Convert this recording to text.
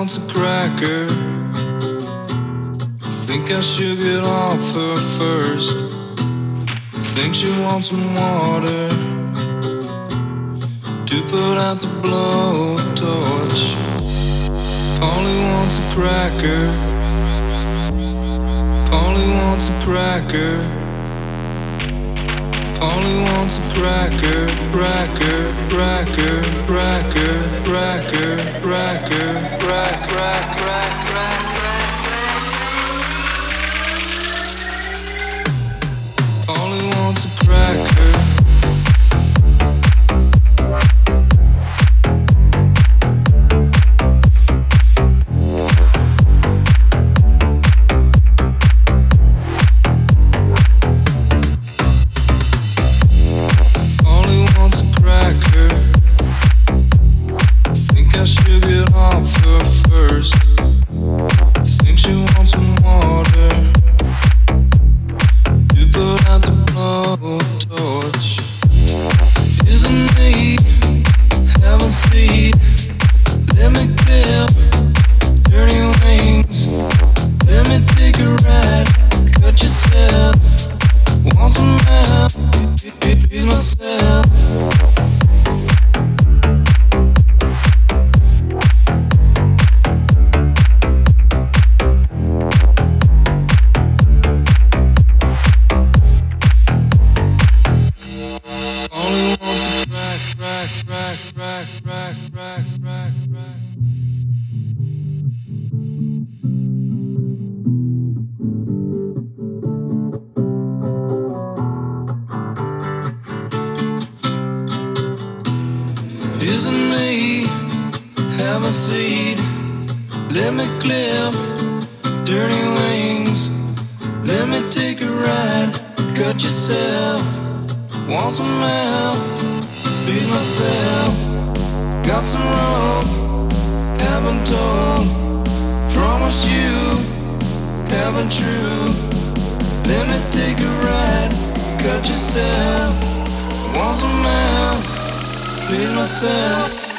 wants a cracker. Think I should get off her first. Think she wants some water to put out the blowtorch. Polly wants a cracker. Polly wants a cracker. Polly wants a cracker, cracker, cracker, cracker, cracker, cracker, crack, crack, crack, crack, crack. Polly wants a cracker. I should get off her first. Think she wants some water to put out the blowtorch. Isn't me, have a seat. Let me clip dirty wings. Let me take a ride. Cut yourself. Want some help? Please myself. Isn't me, have a seat. Let me clip dirty wings. Let me take a ride. Cut yourself. Want some help? Please myself. Got some rope, haven't told. Promise you, haven't true. Let me take a ride. Cut yourself. Want some help? Please myself.